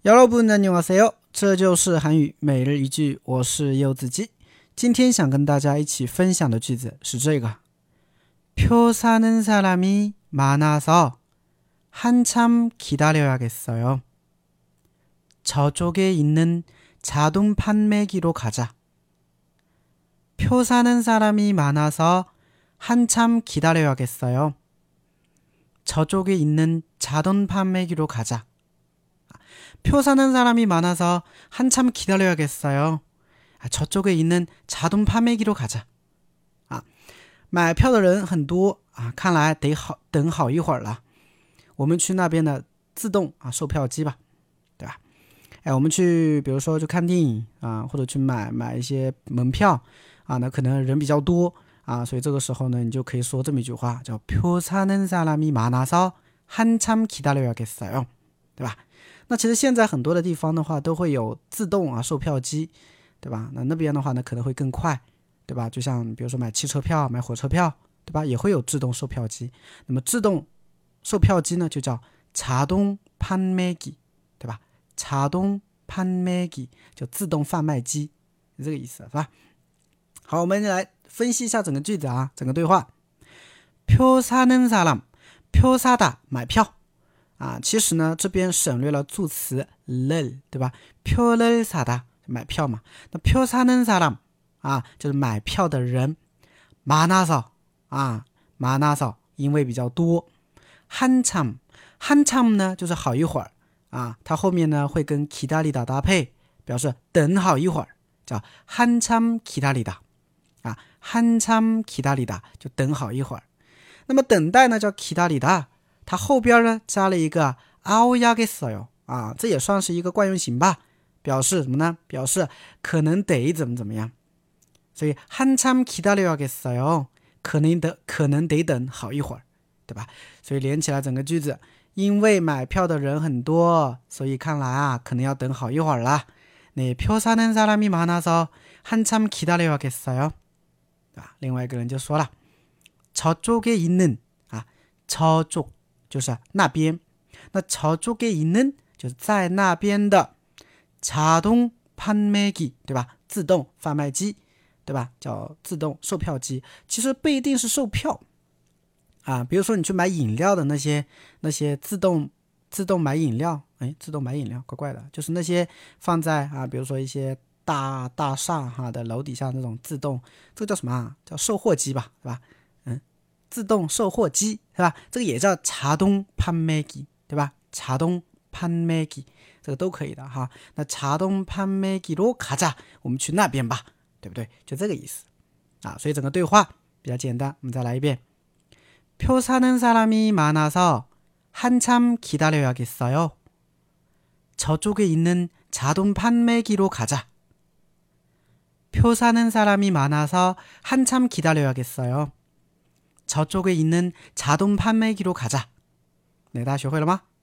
여러분 안녕하세요，这就是韩语每日一句，我是柚子鸡。今天想跟大家一起分享的句子是这个：표 사는 사람이 많아서 한참 기다려야겠어요. 저쪽에 있는 자동 판매기로 가자. 표 사는 사람이 많아서 한참 기다려야겠어요. 저쪽에 있는 자동 판매기로 가자. 표 사는 사람이 많아서 한참 기다려야겠어요. 저쪽에 있는 자동 판매기로 가자. 买票的人很多看来得等好一会儿了。我们去那边的自动售票机吧，对吧？我们去比如说去看电影或者去买一些门票那可能人比较多所以这个时候呢，你就可以说这么一句话，叫표 사는 사람이 많아서 한참 기다려야겠어요，对吧？那其实现在很多的地方的话都会有自动售票机，对吧？那边的话呢可能会更快，对吧？就像比如说买汽车票、买火车票，对吧？也会有自动售票机。那么自动售票机呢就叫자동 판매기，对吧？자동 판매기就自动贩卖机，是这个意思，是吧？好，我们来分析一下整个句子整个对话。표 사는 사람，표 사다买票。其实呢这边省略了助词를，对吧？표를 사다买票嘛。那표 사는 사람就是买票的人。많아서 많아서因为比较多。한참呢就是好一会儿它后面呢会跟기다리다搭配，表示等好一会儿，叫한참 기다리다 한참 기다리다就等好一会儿。那么等待呢叫기다리다，它后边呢加了一个熬야겠어요这也算是一个惯用型吧，表示什么呢？表示可能得怎么样。所以한참 기다려야겠어요，可能得等好一会儿，对吧？所以连起来整个句子，因为买票的人很多，所以看来可能要等好一会儿啦。네, 표 사는 사람이 많아서 한참 기다려야겠어요，对吧？另外一个人就说了，저쪽에 있는 저쪽就是那边，那저쪽에 있는就是在那边的자동 판매기，对吧？自动贩卖机，对吧？叫自动售票机。其实不一定是售票比如说你去买饮料的那些自动买饮料，自动买饮料怪怪的，就是那些放在比如说一些大厦的楼底下那种自动，这个叫什么叫售货机吧，是吧？自动售货机是吧？这个也叫자동 판매기，对吧？자동 판매기这个都可以的那자동 판매기로 가자，我们去那边吧，对不对？就这个意思所以整个对话比较简单，我们再来一遍。표 사는 사람이 많아서 한참 기다려야겠어요. 저쪽에 있는 자동 판매기로 가자. 표 사는 사람이 많아서 한참 기다려야겠어요. 저쪽에 있는 자동 판매기로 가자. 네, 大家学会了吗？